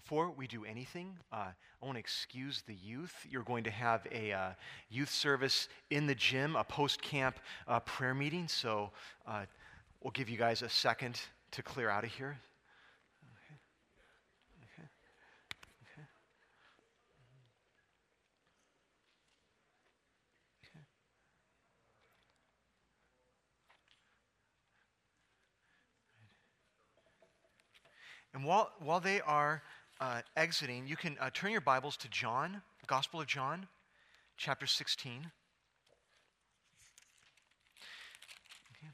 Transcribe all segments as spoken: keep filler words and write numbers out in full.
Before we do anything, uh, I want to excuse the youth. You're going to have a uh, youth service in the gym, a post-camp uh, prayer meeting, so uh, we'll give you guys a second to clear out of here. Okay. Okay. Okay. Okay. And while, while they are uh, exiting, you can uh, turn your Bibles to John, Gospel of John, chapter sixteen. Okay.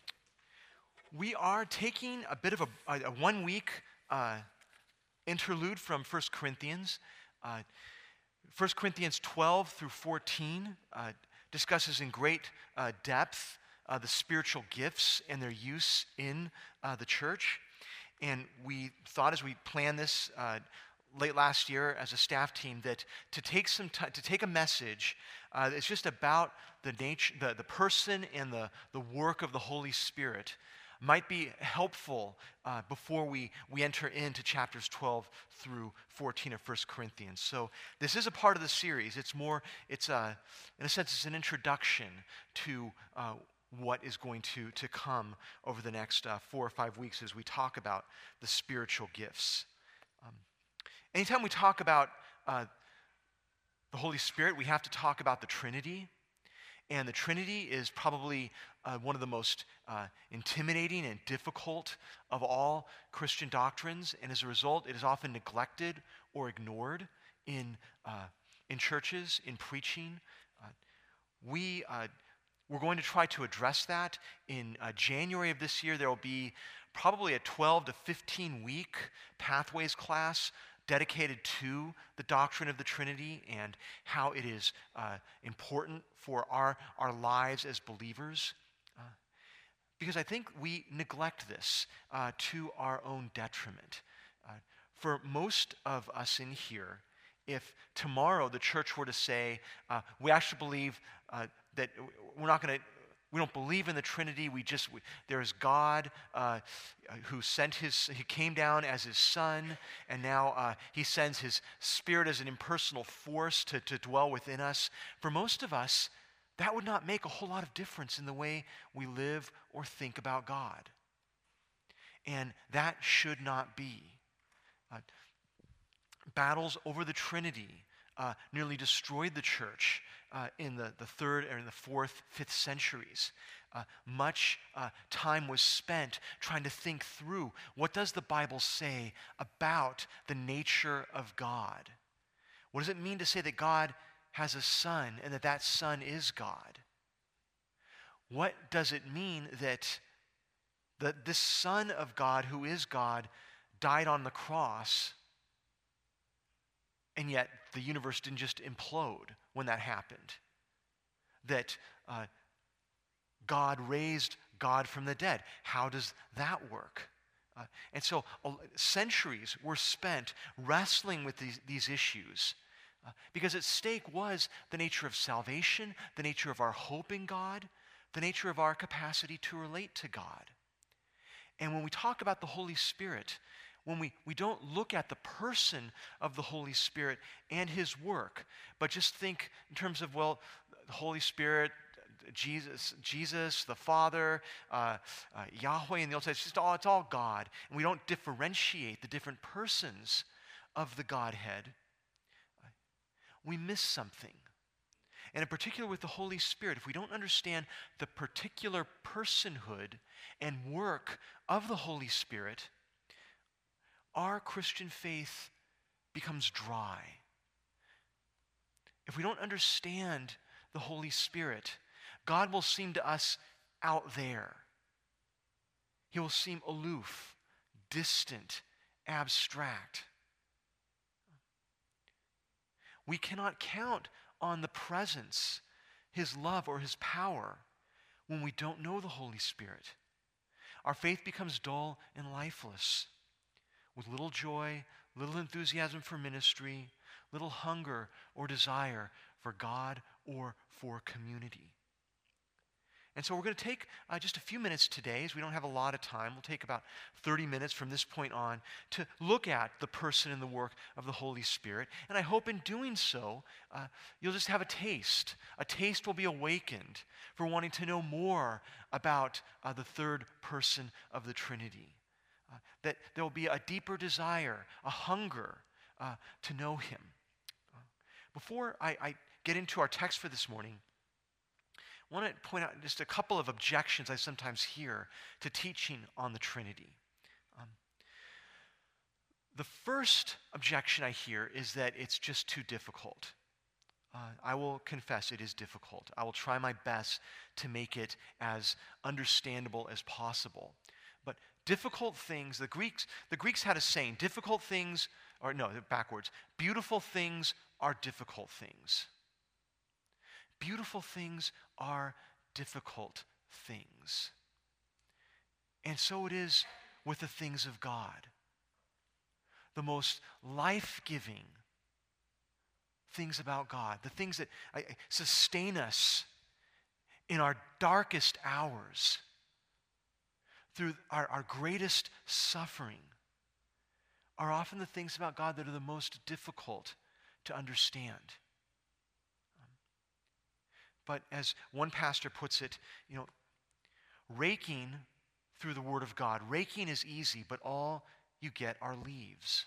We are taking a bit of a, a, a one-week uh, interlude from First Corinthians. Uh, First Corinthians twelve through fourteen uh, discusses in great uh, depth uh, the spiritual gifts and their use in uh, the church. And we thought as we planned this uh, late last year as a staff team that to take some time, to take a message uh, that's just about the nature, the, the person and the, the work of the Holy Spirit might be helpful uh, before we, we enter into chapters twelve through fourteen of First Corinthians. So this is a part of the series. It's more, it's a, in a sense, it's an introduction to uh, what is going to, to come over the next uh, four or five weeks as we talk about the spiritual gifts. Um, anytime we talk about uh, the Holy Spirit, we have to talk about the Trinity. And the Trinity is probably uh, one of the most uh, intimidating and difficult of all Christian doctrines. And as a result, it is often neglected or ignored in, uh, in churches, in preaching. Uh, we... Uh, We're going to try to address that. In uh, January of this year, there will be probably a twelve to fifteen week Pathways class dedicated to the doctrine of the Trinity and how it is uh, important for our, our lives as believers. Uh, because I think we neglect this uh, to our own detriment. Uh, for most of us in here, if tomorrow the church were to say, uh, we actually believe uh, that we're not going to, we don't believe in the Trinity, we just, we, there's God uh, who sent his, he came down as his son, and now uh, he sends his Spirit as an impersonal force to, to dwell within us. For most of us, that would not make a whole lot of difference in the way we live or think about God. And that should not be. Uh, battles over the Trinity Uh, nearly destroyed the church uh, in the, the third or in the fourth, fifth centuries. Uh, much uh, time was spent trying to think through what does the Bible say about the nature of God? What does it mean to say that God has a son and that that son is God? What does it mean that the, this Son of God who is God died on the cross, and yet the universe didn't just implode when that happened? That uh, God raised God from the dead. How does that work? Uh, and so uh, centuries were spent wrestling with these, these issues uh, because at stake was the nature of salvation, the nature of our hope in God, the nature of our capacity to relate to God. And when we talk about the Holy Spirit, when we, we don't look at the person of the Holy Spirit and his work, but just think in terms of, well, the Holy Spirit, Jesus, Jesus, the Father, uh, uh, Yahweh in the Old Testament, it's just all, it's all God. And we don't differentiate the different persons of the Godhead. We miss something. And in particular with the Holy Spirit, if we don't understand the particular personhood and work of the Holy Spirit, our Christian faith becomes dry. If we don't understand the Holy Spirit, God will seem to us out there. He will seem aloof, distant, abstract. We cannot count on the presence, his love, or his power when we don't know the Holy Spirit. Our faith becomes dull and lifeless, with little joy, little enthusiasm for ministry, little hunger or desire for God or for community. And so we're going to take uh, just a few minutes today, as we don't have a lot of time. We'll take about thirty minutes from this point on to look at the person and the work of the Holy Spirit. And I hope in doing so, uh, you'll just have a taste. A taste will be awakened for wanting to know more about uh, the third person of the Trinity. Uh, that there will be a deeper desire, a hunger uh, to know him. Uh, before I, I get into our text for this morning, I want to point out just a couple of objections I sometimes hear to teaching on the Trinity. Um, the first objection I hear is that it's just too difficult. Uh, I will confess it is difficult. I will try my best to make it as understandable as possible. But difficult things, the Greeks, the Greeks had a saying, difficult things, or no, backwards, beautiful things are difficult things. Beautiful things are difficult things. And so it is with the things of God. The most life-giving things about God, the things that sustain us in our darkest hours, through our, our greatest suffering, are often the things about God that are the most difficult to understand. But as one pastor puts it, you know, raking through the Word of God, raking is easy, but all you get are leaves.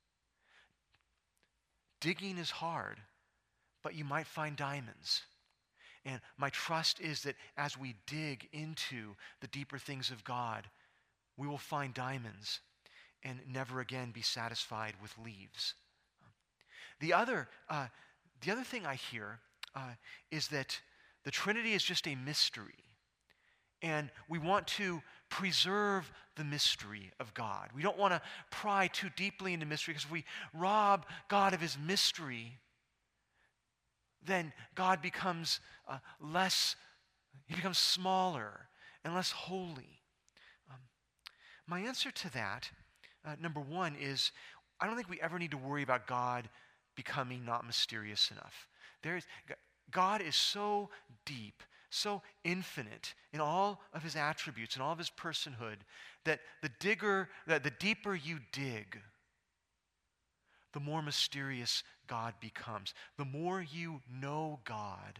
Digging is hard, but you might find diamonds. And my trust is that as we dig into the deeper things of God, we will find diamonds and never again be satisfied with leaves. The other, uh, the other thing I hear uh, is that the Trinity is just a mystery. And we want to preserve the mystery of God. We don't want to pry too deeply into mystery, because if we rob God of his mystery, then God becomes uh, less, he becomes smaller and less holy. Um, my answer to that, uh, number one, is I don't think we ever need to worry about God becoming not mysterious enough. There is, God is so deep, so infinite in all of his attributes and all of his personhood, that the digger, that the deeper you dig, the more mysterious God becomes. The more you know God,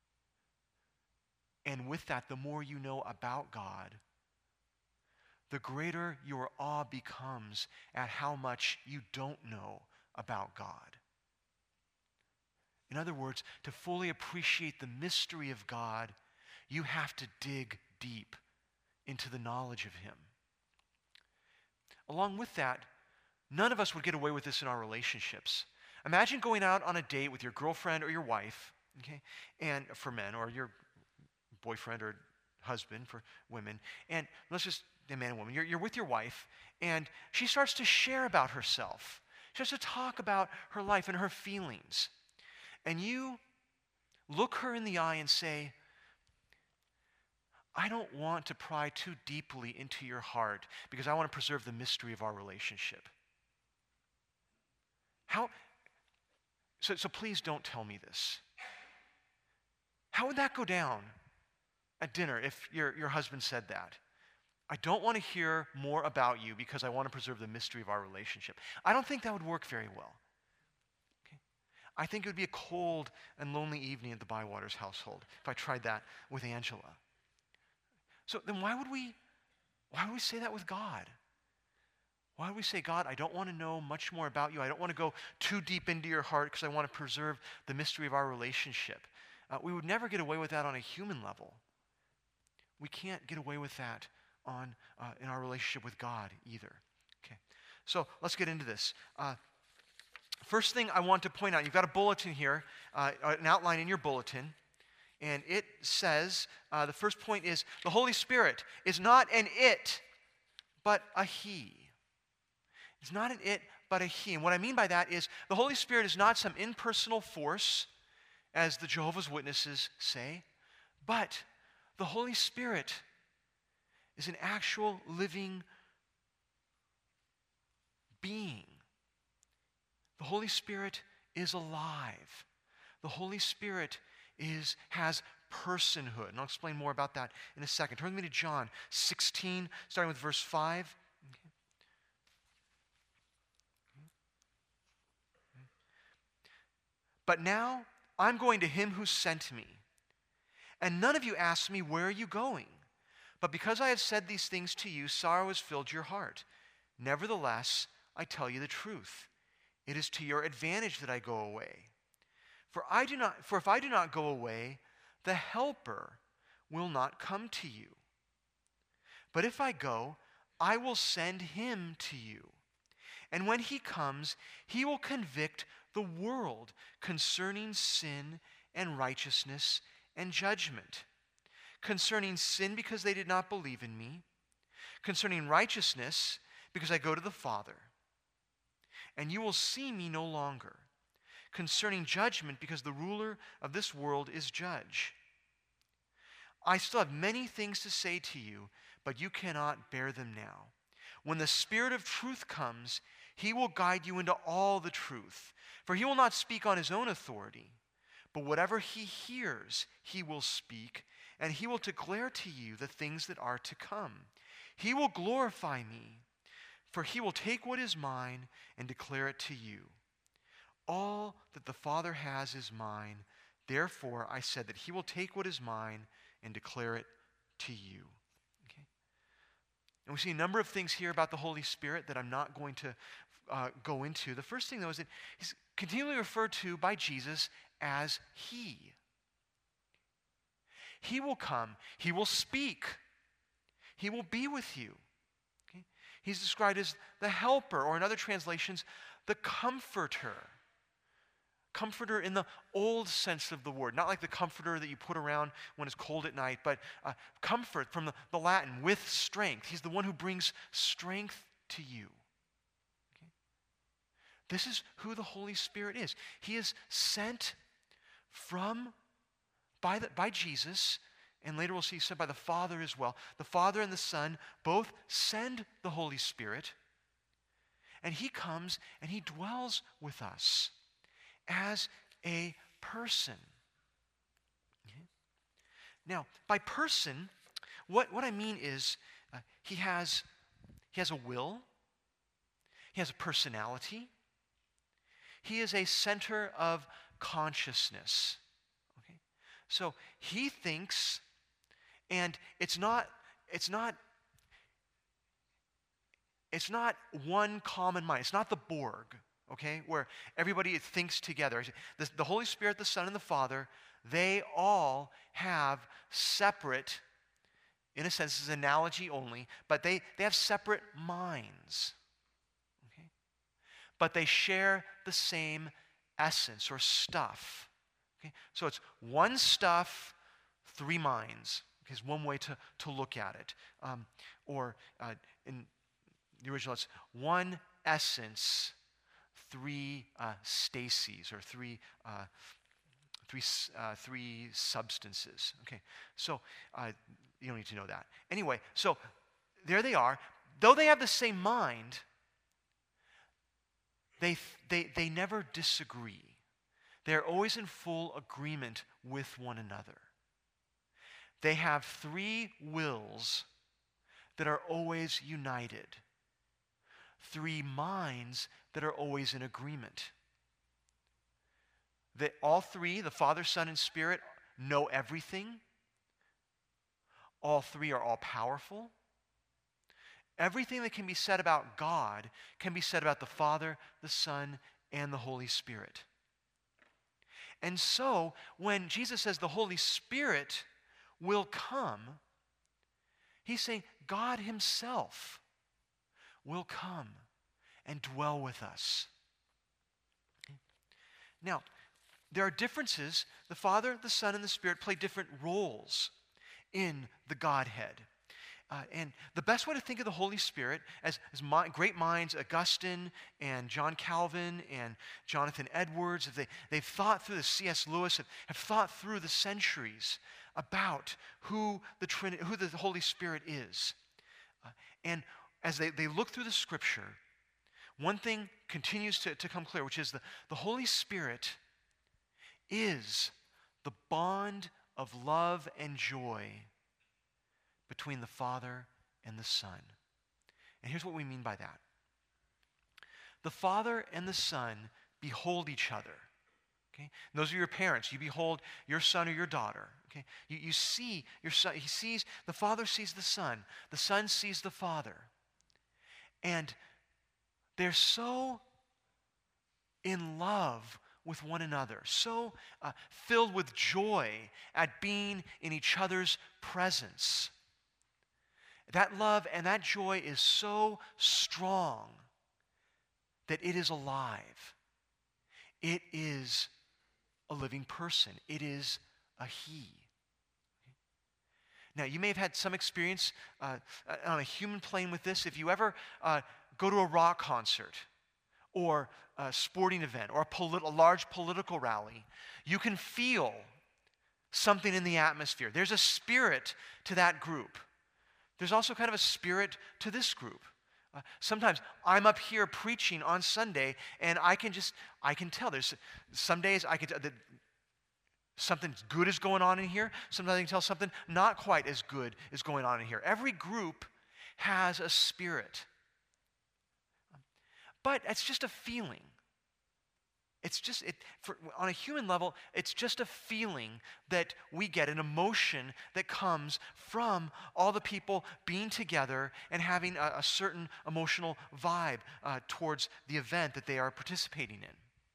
and with that, the more you know about God, the greater your awe becomes at how much you don't know about God. In other words, to fully appreciate the mystery of God, you have to dig deep into the knowledge of him. Along with that, none of us would get away with this in our relationships. Imagine going out on a date with your girlfriend or your wife, okay, and for men, or your boyfriend or husband for women, and let's just, a man and woman, you're, you're with your wife, and she starts to share about herself. She starts to talk about her life and her feelings. And you look her in the eye and say, I don't want to pry too deeply into your heart because I want to preserve the mystery of our relationship. How, so, so please don't tell me this. How would that go down at dinner if your, your husband said that? I don't want to hear more about you because I want to preserve the mystery of our relationship. I don't think that would work very well. I think it would be a cold and lonely evening at the Bywaters household if I tried that with Angela. So then why would we, why would we say that with God? Why would we say, God, I don't want to know much more about you. I don't want to go too deep into your heart because I want to preserve the mystery of our relationship. Uh, we would never get away with that on a human level. We can't get away with that on uh, in our relationship with God either. Okay, so let's get into this. Uh, First thing I want to point out, you've got a bulletin here, uh, an outline in your bulletin, and it says, uh, the first point is, the Holy Spirit is not an it, but a he. It's not an it, but a he. And what I mean by that is, the Holy Spirit is not some impersonal force, as the Jehovah's Witnesses say, but the Holy Spirit is an actual living being. The Holy Spirit is alive. The Holy Spirit is, has personhood. And I'll explain more about that in a second. Turn with me to John sixteen, starting with verse five. But now I'm going to him who sent me. And none of you asked me, where are you going? But because I have said these things to you, sorrow has filled your heart. Nevertheless, I tell you the truth. It is to your advantage that I go away. For I do not, for if I do not go away, the Helper will not come to you. But if I go, I will send him to you. And when he comes, he will convict the world concerning sin and righteousness and judgment. Concerning sin, because they did not believe in me. Concerning righteousness, because I go to the Father, and you will see me no longer. Concerning judgment, because the ruler of this world is judge. I still have many things to say to you, but you cannot bear them now. When the Spirit of truth comes, he will guide you into all the truth. For he will not speak on his own authority, but whatever he hears, he will speak, and he will declare to you the things that are to come. He will glorify me, for he will take what is mine and declare it to you. All that the Father has is mine. Therefore, I said that he will take what is mine and declare it to you. Okay? And we see a number of things here about the Holy Spirit that I'm not going to uh, go into. The first thing, though, is that he's continually referred to by Jesus as he. He will come. He will speak. He will be with you. Okay? He's described as the helper, or in other translations, the comforter. Comforter in the old sense of the word, not like the comforter that you put around when it's cold at night, but uh, comfort from the, the Latin, with strength. He's the one who brings strength to you. Okay? This is who the Holy Spirit is. He is sent from, by, the, by Jesus, and later we'll see sent by the Father as well. The Father and the Son both send the Holy Spirit, and he comes and he dwells with us as a person. Okay? Now, by person, what, what I mean is uh, he has he has a will, he has a personality, he is a center of consciousness. Okay? So he thinks, and it's not it's not it's not one common mind. It's not the Borg. Okay, where everybody thinks together. The, the Holy Spirit, the Son, and the Father, they all have separate, in a sense, this is an analogy only, but they, they have separate minds. Okay? But they share the same essence or stuff. Okay? So it's one stuff, three minds. Okay, is one way to, to look at it. Um, or uh, in the original, it's one essence, three uh, stases, or three uh, three uh, three substances. Okay, so uh, you don't need to know that. Anyway, so there they are. Though they have the same mind, they they they never disagree. They're always in full agreement with one another. They have three wills that are always united. Three minds that are always in agreement. That all three, the Father, Son, and Spirit, know everything. All three are all powerful. Everything that can be said about God can be said about the Father, the Son, and the Holy Spirit. And so, when Jesus says the Holy Spirit will come, he's saying God himself will come and dwell with us. Okay. Now, there are differences. The Father, the Son, and the Spirit play different roles in the Godhead. Uh, and the best way to think of the Holy Spirit, as, as my, great minds, Augustine and John Calvin and Jonathan Edwards, they, they've thought through, the C S Lewis, have, have thought through the centuries about who the, Trin- who the Holy Spirit is. Uh, and as they, they look through the Scripture, one thing continues to, to come clear, which is the, the Holy Spirit is the bond of love and joy between the Father and the Son. And here's what we mean by that. The Father and the Son behold each other. Okay? And those are your parents. You behold your son or your daughter. Okay? You, you see your son. He sees, the Father sees the Son. The Son sees the Father. And they're so in love with one another, so uh, filled with joy at being in each other's presence. That love and that joy is so strong that it is alive. It is a living person. It is a he. Now, you may have had some experience uh, on a human plane with this. If you ever uh, go to a rock concert or a sporting event or a, polit- a large political rally, you can feel something in the atmosphere. There's a spirit to that group. There's also kind of a spirit to this group. Uh, sometimes I'm up here preaching on Sunday, and I can just, I can tell. There's some days I can tell that something good is going on in here. Sometimes I can tell something not quite as good is going on in here. Every group has a spirit. But it's just a feeling. It's just, it, for, on a human level, it's just a feeling that we get, an emotion that comes from all the people being together and having a, a certain emotional vibe uh, towards the event that they are participating in.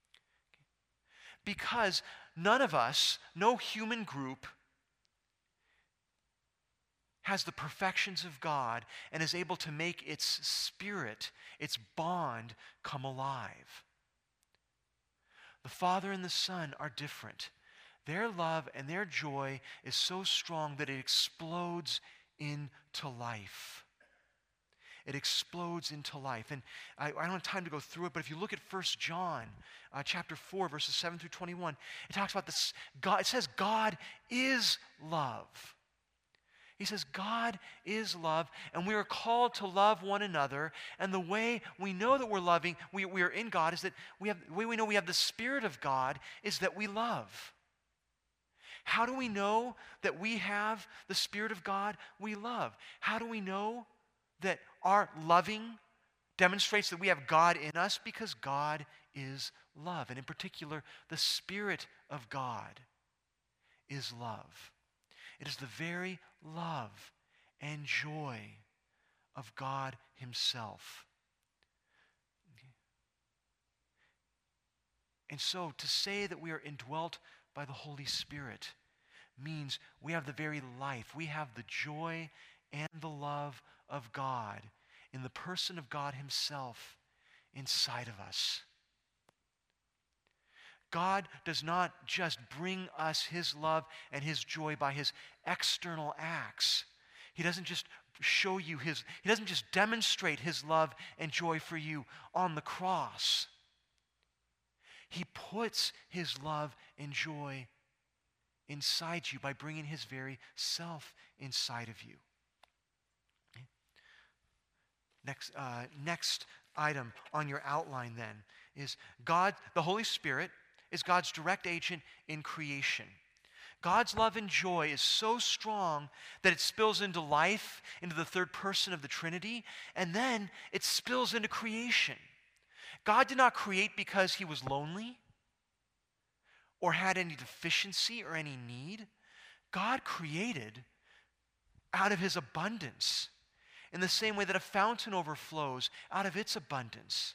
Because none of us, no human group, has the perfections of God and is able to make its spirit, its bond, come alive. The Father and the Son are different. Their love and their joy is so strong that it explodes into life. It explodes into life. And I, I don't have time to go through it, but if you look at First John uh, chapter four, verses seven through twenty-one, it talks about this. God, it says God is love. He says God is love, and we are called to love one another. And the way we know that we're loving, we, we are in God, is that we have, the way we know we have the Spirit of God is that we love. How do we know that we have the Spirit of God? We love. How do we know that our loving demonstrates that we have God in us? Because God is love. And in particular, the Spirit of God is love. It is the very love and joy of God Himself. And so to say that we are indwelt by the Holy Spirit means we have the very life, we have the joy and the love of God in the person of God Himself inside of us. God does not just bring us His love and His joy by His external acts. He doesn't just show you His, He doesn't just demonstrate His love and joy for you on the cross. He puts His love and joy inside you by bringing His very self inside of you. Next, uh, next item on your outline then is God, the Holy Spirit, is God's direct agent in creation. God's love and joy is so strong that it spills into life, into the third person of the Trinity, and then it spills into creation. God did not create because He was lonely or had any deficiency or any need. God created out of His abundance in the same way that a fountain overflows out of its abundance.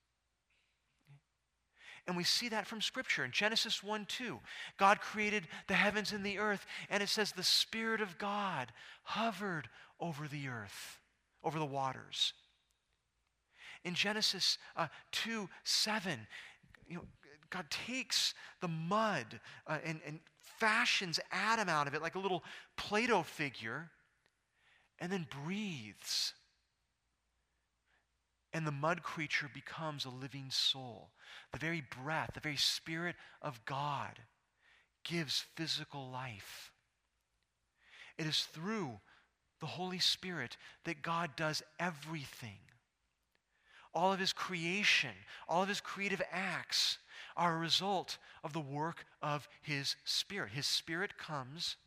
And we see that from Scripture. In Genesis one two, God created the heavens and the earth, and it says the Spirit of God hovered over the earth, over the waters. In Genesis uh, two seven, you know, God takes the mud uh, and, and fashions Adam out of it like a little Play-Doh figure, and then breathes. And the mud creature becomes a living soul. The very breath, the very Spirit of God gives physical life. It is through the Holy Spirit that God does everything. All of His creation, all of His creative acts are a result of the work of His Spirit. His Spirit comes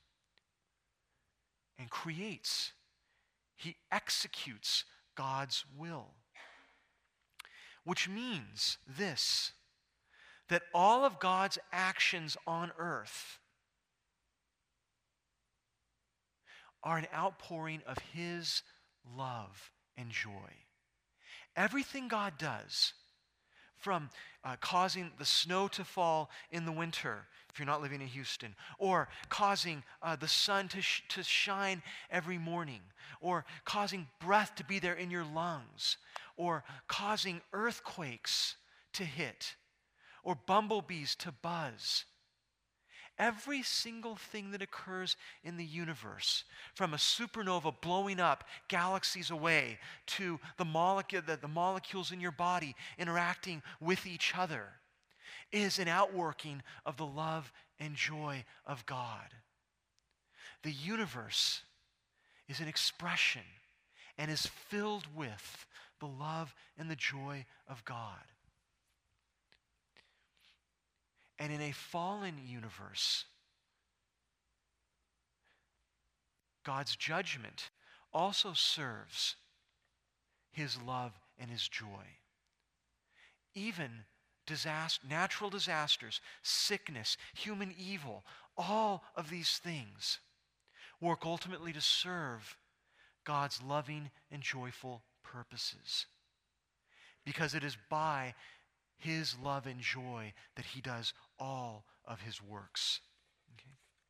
and creates. He executes God's will. Which means this, that all of God's actions on earth are an outpouring of His love and joy. Everything God does, from uh, causing the snow to fall in the winter, if you're not living in Houston, or causing uh, the sun to, sh- to shine every morning, or causing breath to be there in your lungs, or causing earthquakes to hit, or bumblebees to buzz. Every single thing that occurs in the universe, from a supernova blowing up galaxies away to the, molecule, the, the molecules in your body interacting with each other, is an outworking of the love and joy of God. The universe is an expression and is filled with the love and the joy of God. And in a fallen universe, God's judgment also serves His love and His joy. Even disaster, natural disasters, sickness, human evil, all of these things work ultimately to serve God's loving and joyful purposes. Because it is by His love and joy that He does all of His works. Okay?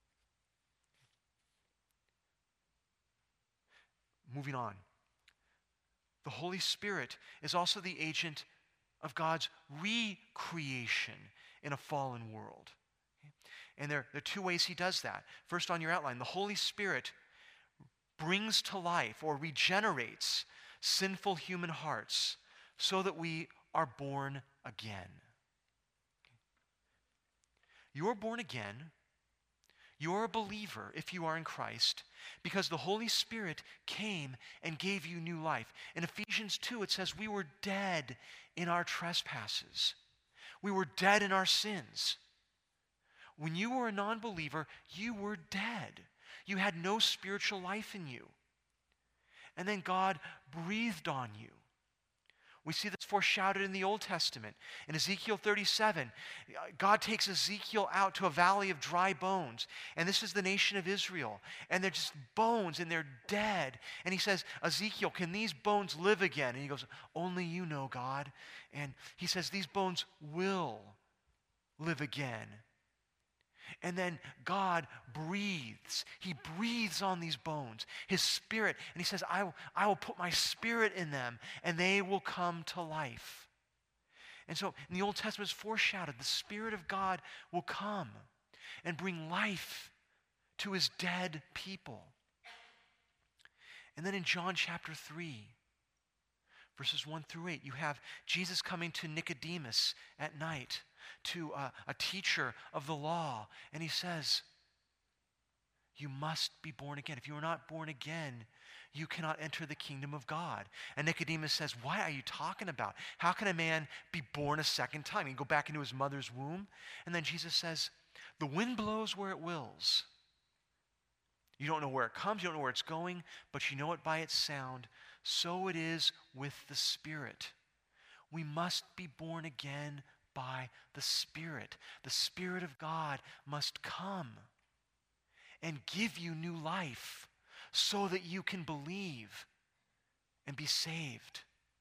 Moving on. The Holy Spirit is also the agent of God's recreation in a fallen world. Okay? And there, there are two ways He does that. First, on your outline, the Holy Spirit brings to life or regenerates sinful human hearts so that we are born again. You're born again. You're a believer if you are in Christ because the Holy Spirit came and gave you new life. In Ephesians two, it says we were dead in our trespasses. We were dead in our sins. When you were a non-believer, you were dead. You had no spiritual life in you. And then God breathed on you. We see this foreshadowed in the Old Testament. In Ezekiel thirty-seven, God takes Ezekiel out to a valley of dry bones. And this is the nation of Israel. And they're just bones and they're dead. And he says, Ezekiel, can these bones live again? And he goes, only you know, God. And he says, these bones will live again. And then God breathes. He breathes on these bones, His Spirit. And He says, I will, I will put my Spirit in them, and they will come to life. And so in the Old Testament, it's foreshadowed. The Spirit of God will come and bring life to His dead people. And then in John chapter three, verses one through eight, you have Jesus coming to Nicodemus at night, to a, a teacher of the law, and he says, you must be born again. If you are not born again, you cannot enter the kingdom of God. And Nicodemus says, what are you talking about? How can a man be born a second time? He can go back into his mother's womb. And then Jesus says, the wind blows where it wills. You don't know where it comes, you don't know where it's going, but you know it by its sound. So it is with the Spirit. We must be born again by the Spirit. The Spirit of God must come and give you new life so that you can believe and be saved.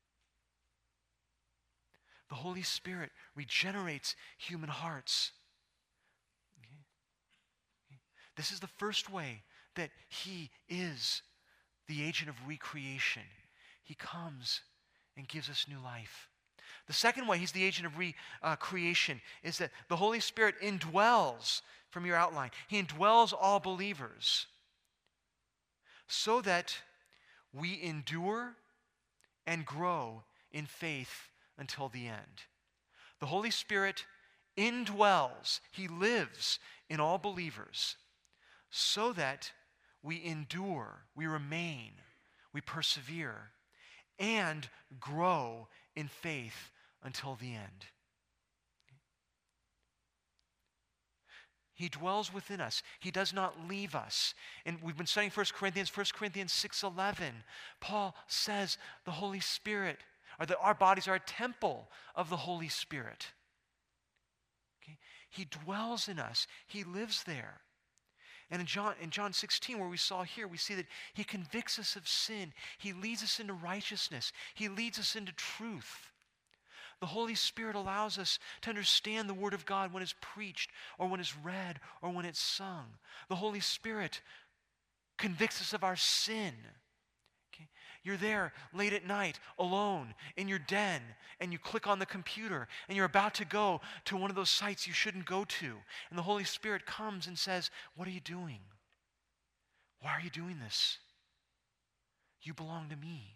The Holy Spirit regenerates human hearts. Okay? Okay. This is the first way that He is the agent of recreation. He comes and gives us new life. The second way He's the agent of recreation uh, is that the Holy Spirit indwells, from your outline, He indwells all believers so that we endure and grow in faith until the end. The Holy Spirit indwells, He lives in all believers so that we endure, we remain, we persevere, and grow in faith until the end. He dwells within us. He does not leave us. And we've been studying First Corinthians, First Corinthians six eleven. Paul says the Holy Spirit, or that our bodies are a temple of the Holy Spirit. Okay? He dwells in us. He lives there. And in John, in John sixteen, where we saw here, we see that he convicts us of sin. He leads us into righteousness. He leads us into truth. The Holy Spirit allows us to understand the Word of God when it's preached or when it's read or when it's sung. The Holy Spirit convicts us of our sin. Okay? You're there late at night, alone, in your den, and you click on the computer, and you're about to go to one of those sites you shouldn't go to. And the Holy Spirit comes and says, "What are you doing? Why are you doing this? You belong to me."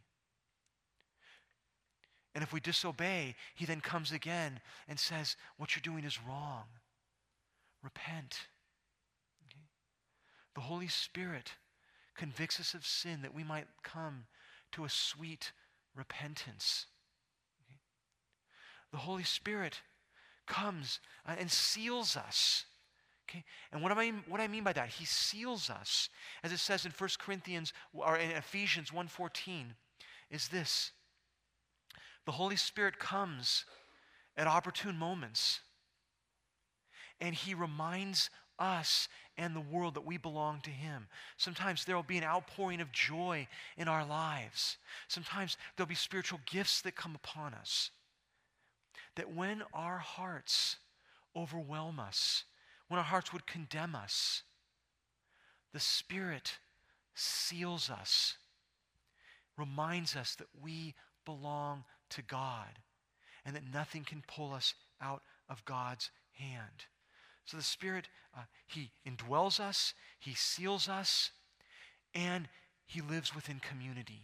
And if we disobey, he then comes again and says, "What you're doing is wrong. Repent." Okay? The Holy Spirit convicts us of sin that we might come to a sweet repentance. Okay? The Holy Spirit comes uh, and seals us. Okay? And what, am I, what I mean by that, he seals us, as it says in First Corinthians, or in Ephesians one fourteen, is this. The Holy Spirit comes at opportune moments, and he reminds us and the world that we belong to him. Sometimes there will be an outpouring of joy in our lives. Sometimes there'll be spiritual gifts that come upon us. That when our hearts overwhelm us, when our hearts would condemn us, the Spirit seals us, reminds us that we belong to God, and that nothing can pull us out of God's hand. So the Spirit, uh, he indwells us, he seals us, and he lives within community.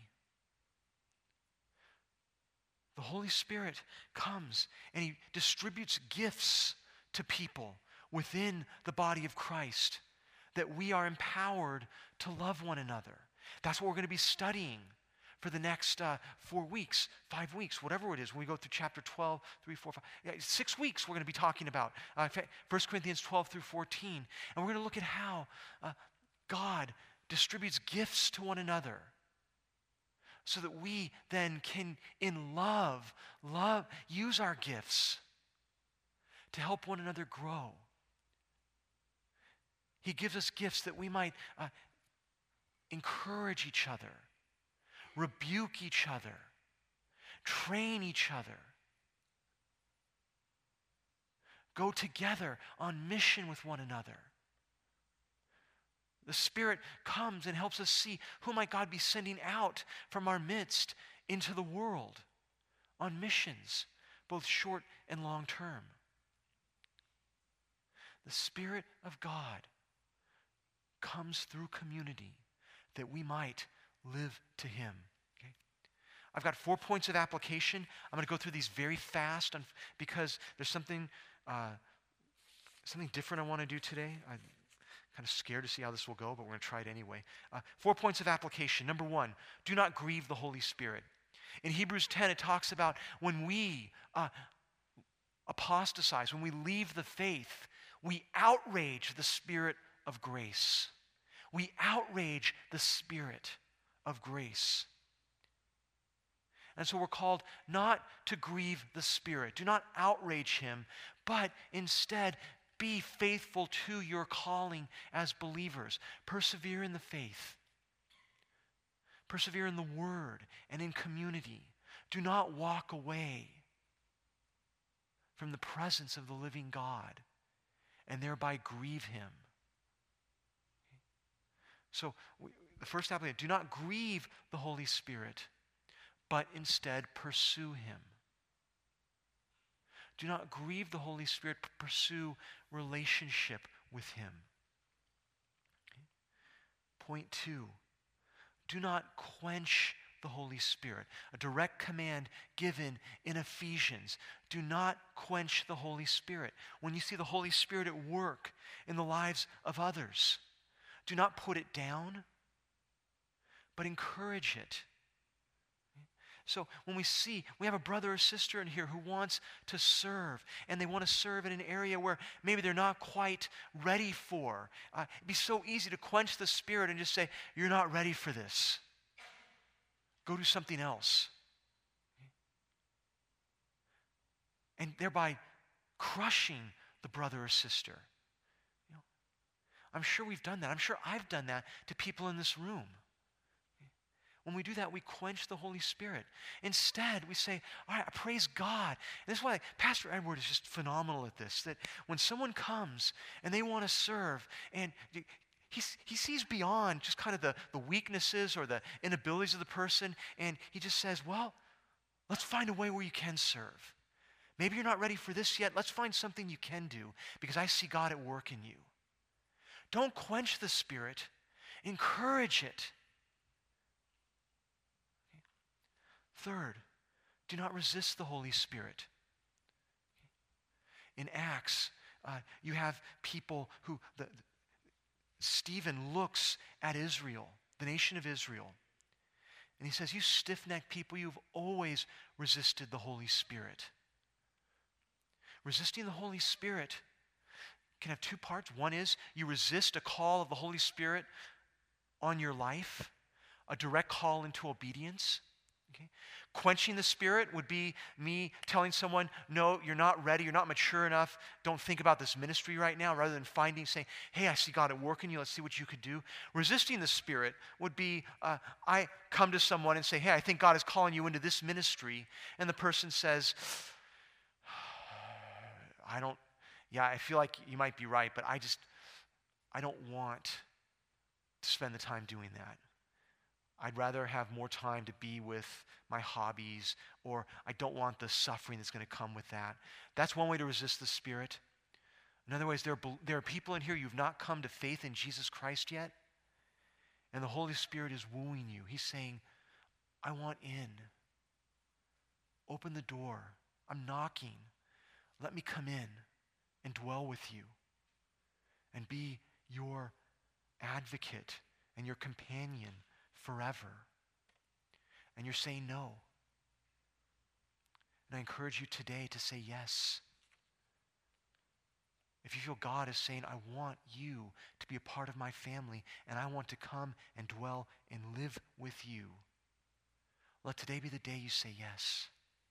The Holy Spirit comes and he distributes gifts to people within the body of Christ, that we are empowered to love one another. That's what we're going to be studying for the next uh, four weeks, five weeks, whatever it is, when we go through chapter twelve, three, four, five, yeah, six weeks we're going to be talking about uh, First Corinthians twelve through fourteen. And we're going to look at how uh, God distributes gifts to one another so that we then can, in love, love, use our gifts to help one another grow. He gives us gifts that we might uh, encourage each other, rebuke each other, train each other, go together on mission with one another. The Spirit comes and helps us see who might God be sending out from our midst into the world on missions, both short and long term. The Spirit of God comes through community that we might live to him. Okay? I've got four points of application. I'm going to go through these very fast on, because there's something uh, something different I want to do today. I'm kind of scared to see how this will go, but we're going to try it anyway. Uh, four points of application. Number one, do not grieve the Holy Spirit. In Hebrews ten, it talks about when we uh, apostatize, when we leave the faith, we outrage the Spirit of grace. We outrage the Spirit of grace. And so we're called not to grieve the Spirit. Do not outrage him, but instead be faithful to your calling as believers. Persevere in the faith. Persevere in the Word and in community. Do not walk away from the presence of the living God and thereby grieve him. So we, the first application, do not grieve the Holy Spirit, but instead pursue him. Do not grieve the Holy Spirit, but pursue relationship with him. Okay. Point two, do not quench the Holy Spirit. A direct command given in Ephesians. Do not quench the Holy Spirit. When you see the Holy Spirit at work in the lives of others, do not put it down, but encourage it. So when we see, we have a brother or sister in here who wants to serve, and they want to serve in an area where maybe they're not quite ready for. Uh, it'd be so easy to quench the Spirit and just say, you're not ready for this. Go do something else. And thereby crushing the brother or sister. You know, I'm sure we've done that. I'm sure I've done that to people in this room. When we do that, we quench the Holy Spirit. Instead, we say, all right, praise God. And this is why Pastor Edward is just phenomenal at this, that when someone comes and they want to serve, and he, he sees beyond just kind of the, the weaknesses or the inabilities of the person, and he just says, well, let's find a way where you can serve. Maybe you're not ready for this yet. Let's find something you can do because I see God at work in you. Don't quench the Spirit. Encourage it. Third, do not resist the Holy Spirit. In Acts, uh, you have people who, the, Stephen looks at Israel, the nation of Israel, and he says, you stiff-necked people, you've always resisted the Holy Spirit. Resisting the Holy Spirit can have two parts. One is you resist a call of the Holy Spirit on your life, a direct call into obedience. Okay? Quenching the Spirit would be me telling someone, no, you're not ready, you're not mature enough, don't think about this ministry right now, rather than finding, saying, hey, I see God at work in you, let's see what you could do. Resisting the Spirit would be, uh, I come to someone and say, hey, I think God is calling you into this ministry, and the person says, I don't, yeah, I feel like you might be right, but I just, I don't want to spend the time doing that. I'd rather have more time to be with my hobbies, or I don't want the suffering that's going to come with that. That's one way to resist the Spirit. Another way is there are, there are people in here, you've not come to faith in Jesus Christ yet, and the Holy Spirit is wooing you. He's saying, I want in. Open the door. I'm knocking. Let me come in and dwell with you and be your advocate and your companion forever. And you're saying no. And I encourage you today to say yes. If you feel God is saying, I want you to be a part of my family, and I want to come and dwell and live with you, let today be the day you say yes.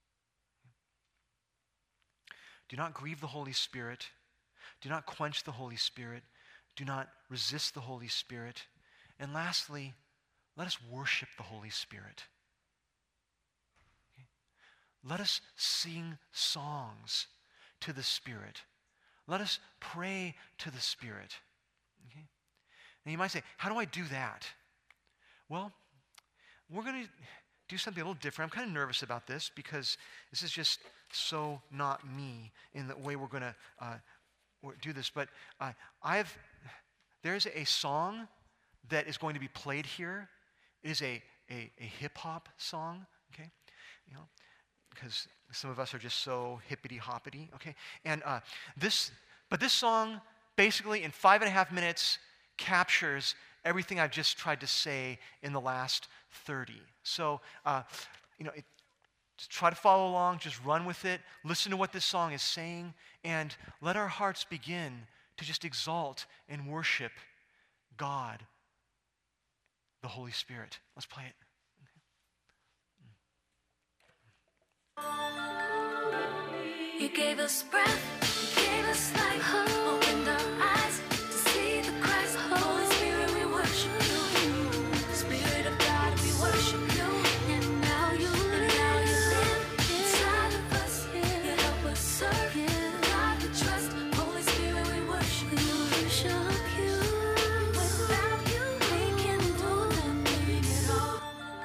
Do not grieve the Holy Spirit. Do not quench the Holy Spirit. Do not resist the Holy Spirit. And lastly, let us worship the Holy Spirit. Okay? Let us sing songs to the Spirit. Let us pray to the Spirit. Okay? Now you might say, how do I do that? Well, we're going to do something a little different. I'm kind of nervous about this because this is just so not me in the way we're going to uh, do this. But uh, I've there's a song that is going to be played here. It is a, a, a hip-hop song, okay? You know, because some of us are just so hippity-hoppity, okay? And uh, this, but this song basically in five and a half minutes captures everything I've just tried to say in the last thirty. So, uh, you know, it, just try to follow along, just run with it, listen to what this song is saying, and let our hearts begin to just exalt and worship God, the Holy Spirit. Let's play it. You gave us breath, you gave us life, opened our eyes to see the Christ. Holy Spirit, we worship you. Spirit of God, we worship you. And now you live, and now you live inside of us. You help us serve God we trust. Holy Spirit, we worship you. Worship you. Without you, we can do nothing at all.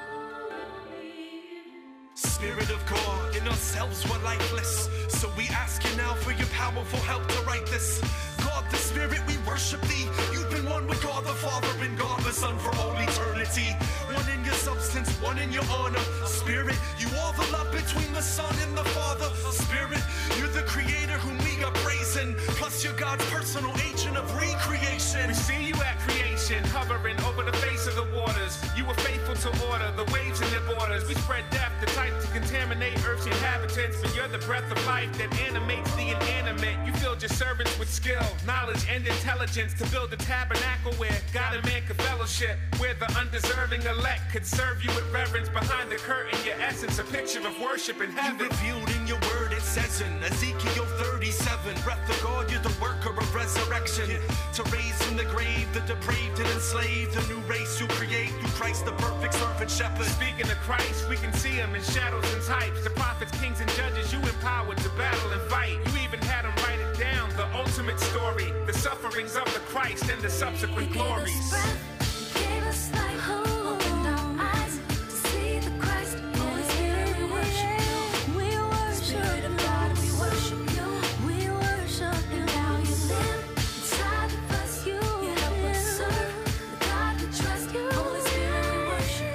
Spirit of God, in ourselves we're lifeless. So we ask you now for your powerful help to write this. God the Spirit, we worship thee. You've been one with God the Father and God the Son for all eternity. One in your substance, one in your honor. Spirit, you are the love between the Son and the Father. Spirit, you're the creator whom we are praising. Plus you're God's personal agent of recreation. We see you at creation, hovering over the face of the waters. You were faithful universal order, the waves and their borders. We spread death, the type to contaminate Earth's inhabitants. But you're the breath of life that animates the inanimate. You filled your servants with skill, knowledge, and intelligence to build a tabernacle where God and man could fellowship, where the undeserving elect could serve you with reverence. Behind the curtain, your essence, a picture of worship in You heaven. revealed in your word, it says in Ezekiel thirty-seven, breath of God, you're the worker of resurrection. To raise from the grave the depraved and enslaved, a new race you create through Christ, the perfect servant shepherd. Speaking of Christ, we can see him in shadows and types. The prophets, kings, and judges you empowered to battle and fight. You even had him write it down, the ultimate story, the sufferings of the Christ and the subsequent You gave us glories. breath, you gave us life, opened our eyes to see the Christ. Holy Spirit, we worship you. We worship Spirit of God, we worship you. We worship you. Now you live inside of us. You, you help us serve the God we trust. Holy Spirit, we worship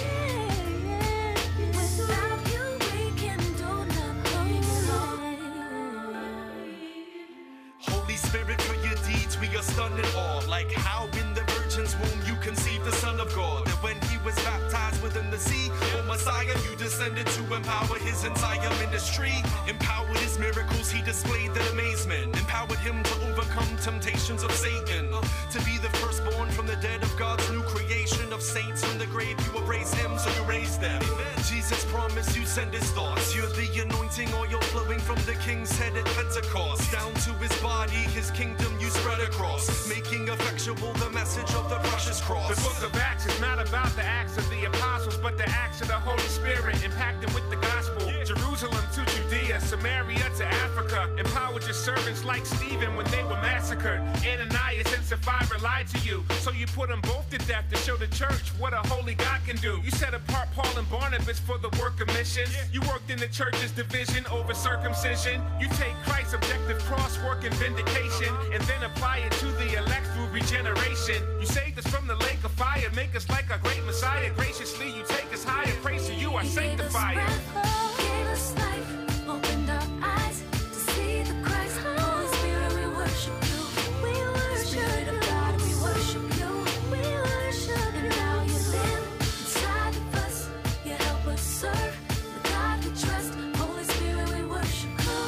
you. Without you, we can do nothing at all. Holy Spirit, for your deeds we are stunned in awe. Like how in the virgin's womb you conceived the Son of God. That when he was baptized within the sea, oh Messiah, you descended to empower his entire ministry. Empowered his miracles, he displayed that amazement. Empowered him to overcome temptations of Satan. To be the firstborn from the dead of God's new creation. Of saints from the grave, you will raise him, so you raise them. Jesus promised you send his thoughts. You're the anointing oil flowing from the king's head at Pentecost. Down to his body, his kingdom you spread across, making effectual the message of the precious cross. The book of Acts is not about the acts of the apostles, but the acts of the Holy Spirit, impacting with the gospel. Jerusalem to Judea, Samaria to Africa. Empowered your servants like Stephen when they were massacred. Ananias and Sapphira lied to you, so you put them both to death to show the church what a holy God can do. You set apart Paul and Barnabas for the work of mission. You worked in the church's division over circumcision. You take Christ's objective cross work and vindication, and then apply it to the elect through regeneration. You saved us from the lake of fire, make us like our great Messiah. Graciously you take us higher, praise to you our sanctifier. Gave us life, opened our eyes to see the Christ. Holy Spirit, we worship you. We worship Spirit of God, we worship you. We worship, and now you live inside of us. You help us serve the God we trust. Holy Spirit, we worship you.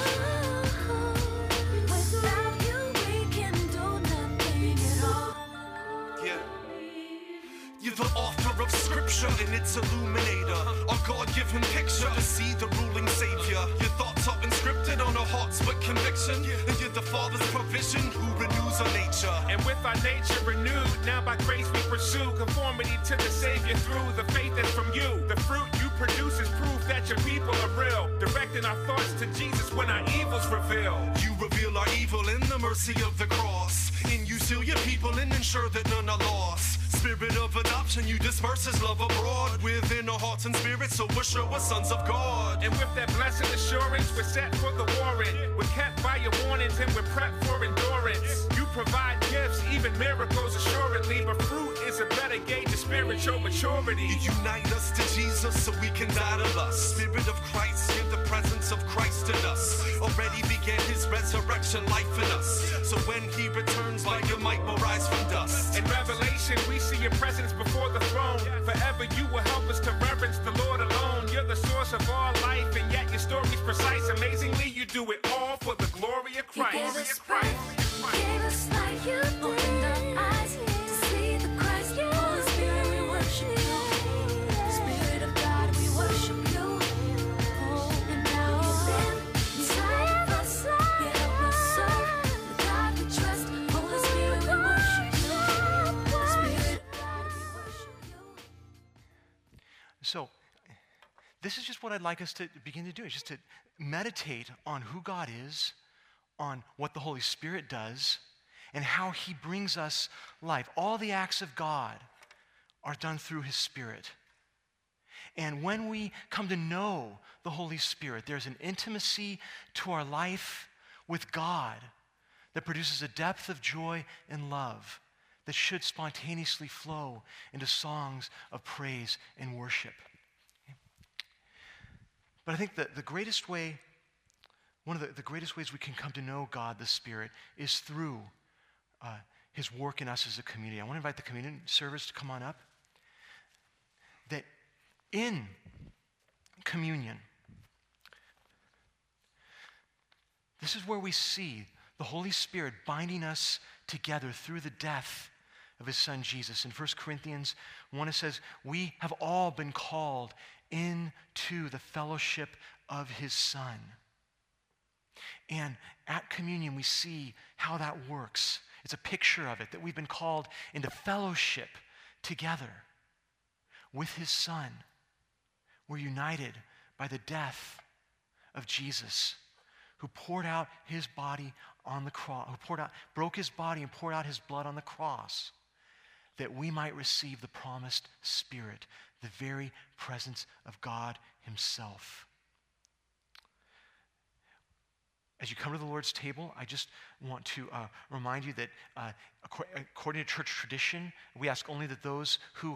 Without you, we can do nothing at all. Yeah. You're the author of scripture and its illuminator, a God-given picture to see the ruling savior. Your thoughts are inscripted on our hearts with conviction, and you're the Father's provision who renews our nature. And with our nature renewed, now by grace we pursue conformity to the Savior through the faith that's from you. The fruit you produce is proof that your people are real, directing our thoughts to Jesus when our evil's revealed. You reveal our evil in the mercy of the cross. In you seal your people and ensure that none are lost. Spirit of adoption, you disperse his love abroad within our hearts and spirits, so we're sure we're sons of God. And with that blessed assurance, we're set for the warrant. We're kept by your warnings and we're prepped for endurance. You provide gifts, even miracles assuredly, but fruit is a better gauge of spiritual maturity. You unite us to Jesus so we can die to lust. Spirit of Christ, give the presence of Christ in us. Already began his resurrection life in us. So when he returns, by your might will rise from dust. In Revelation, we see your presence before the throne. Forever you will help us to reverence the Lord alone. You're the source of all life, and yet your story's precise. Amazingly, you do it all for the glory of You Christ. gave us breath, gave us life. You opened our eyes to see the Christ. Holy Spirit, we worship you. Spirit of God, we worship you. Oh, and now you live inside of us. You help us serve the God we trust. Holy Spirit, we worship you. Spirit of God, we worship you. So, this is just what I'd like us to begin to do, is just to meditate on who God is, on what the Holy Spirit does, and how he brings us life. All the acts of God are done through his Spirit. And when we come to know the Holy Spirit, there's an intimacy to our life with God that produces a depth of joy and love that should spontaneously flow into songs of praise and worship. But I think that the greatest way, one of the, the greatest ways we can come to know God, the Spirit, is through uh, his work in us as a community. I want to invite the communion service to come on up. in communion, this is where we see the Holy Spirit binding us together through the death of his son Jesus. In First Corinthians one, it says, we have all been called into the fellowship of his son. And at communion, we see how that works. It's a picture of it, that we've been called into fellowship together with his son. We're united by the death of Jesus, who poured out his body on the cross, who poured out, broke his body and poured out his blood on the cross, that we might receive the promised Spirit, the very presence of God himself. As you come to the Lord's table, I just want to uh, remind you that uh, according to church tradition, we ask only that those who